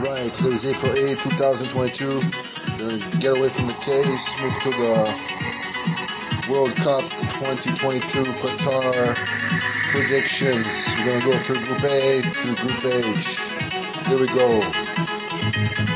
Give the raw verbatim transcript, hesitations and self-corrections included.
Right, today is April eighth, two thousand twenty-two. We're going to get away from the case, move to the World Cup twenty twenty-two Qatar predictions. We're going to go through Group A to Group H. Here we go.